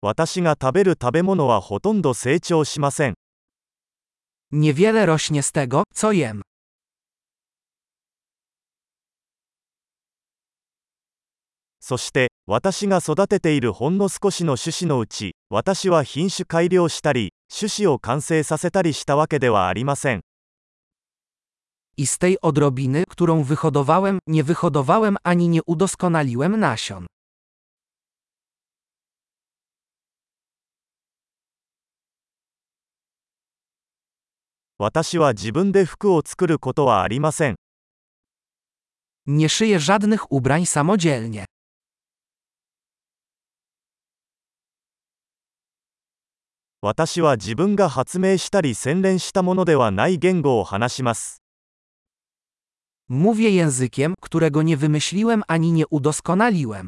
私が食べる食べ物はほとんど成長しません。 Niewiele rośnie z tego, co jem. そして、私が育てているほんの少しの種子のうち、私は品種改良したり、種子を完成させたりしたわけではありません。 I z tej odrobiny, którą wyhodowałem, nie wyhodowałem ani nie udoskonaliłem nasion. 私は自分で服を作ることはありません。 Nie szyję żadnych ubrań samodzielnie. 私は自分が発明したり洗練したものではない言語を話します。 Mówię językiem, którego nie wymyśliłem ani nie udoskonaliłem.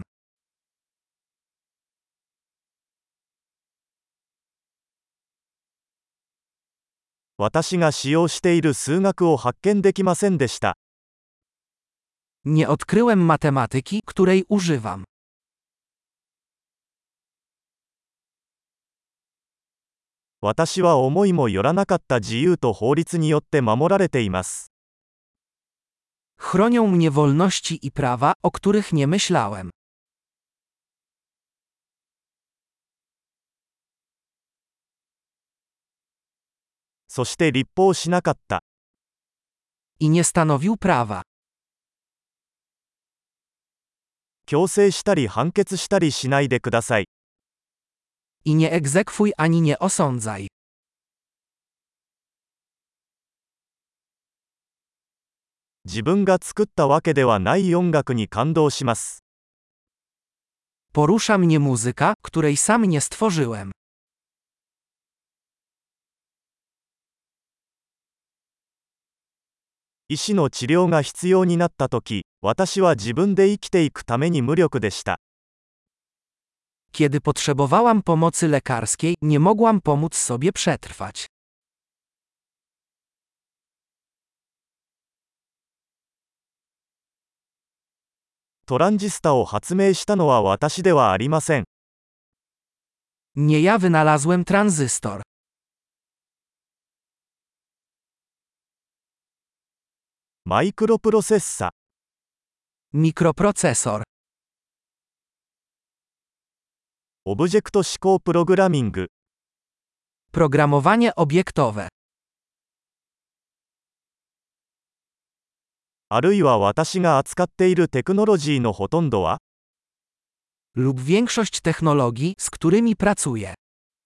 私が使用している数学を発見できませんでした。 Nie odkryłem matematyki, której używam. 私は思いもよらなかった自由と法律によって守られています。 Chronią mnie wolności i prawa, o których nie myślałem. そして立法しなかった。 I nie stanowił prawa. 強制したり判決したりしないでください。 I nie egzekwuj ani nie osądzaj. 自分が作ったわけではない音楽に感動します。 Porusza mnie muzyka, której sam nie stworzyłem. 医師の治療が必要になったとき、私は自分で生きていくために無力でした。 Kiedy potrzebowałam pomocy lekarskiej, nie mogłam pomóc sobie przetrwać. トランジスタを発明したのは私ではありません。 Nie ja wynalazłem tranzystor. マイクロプロセッサ。 Mikroprocesor. オブジェクト指向プログラミング。 Programowanie obiektowe. あるいは私が扱っているテクノロジーのほとんどは Lub większość technologii, z którymi pracuję.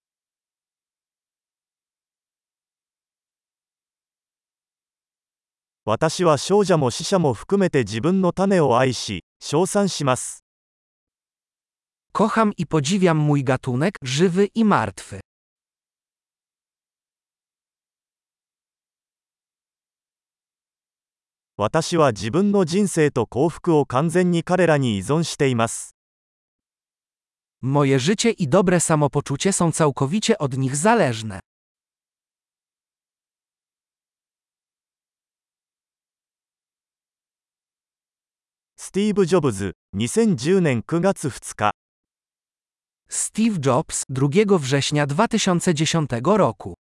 私は少者も死者も含めて自分の種を愛し、称賛します。 Kocham i podziwiam mój gatunek, żywy i martwy. 私は自分の人生と幸福を完全に彼らに依存しています。 Moje życie i dobre samopoczucie są całkowicie od nich zależne. スティーブ・ジョブズ、2010年9月2日。 Steve Jobs, 2 września 2010 roku.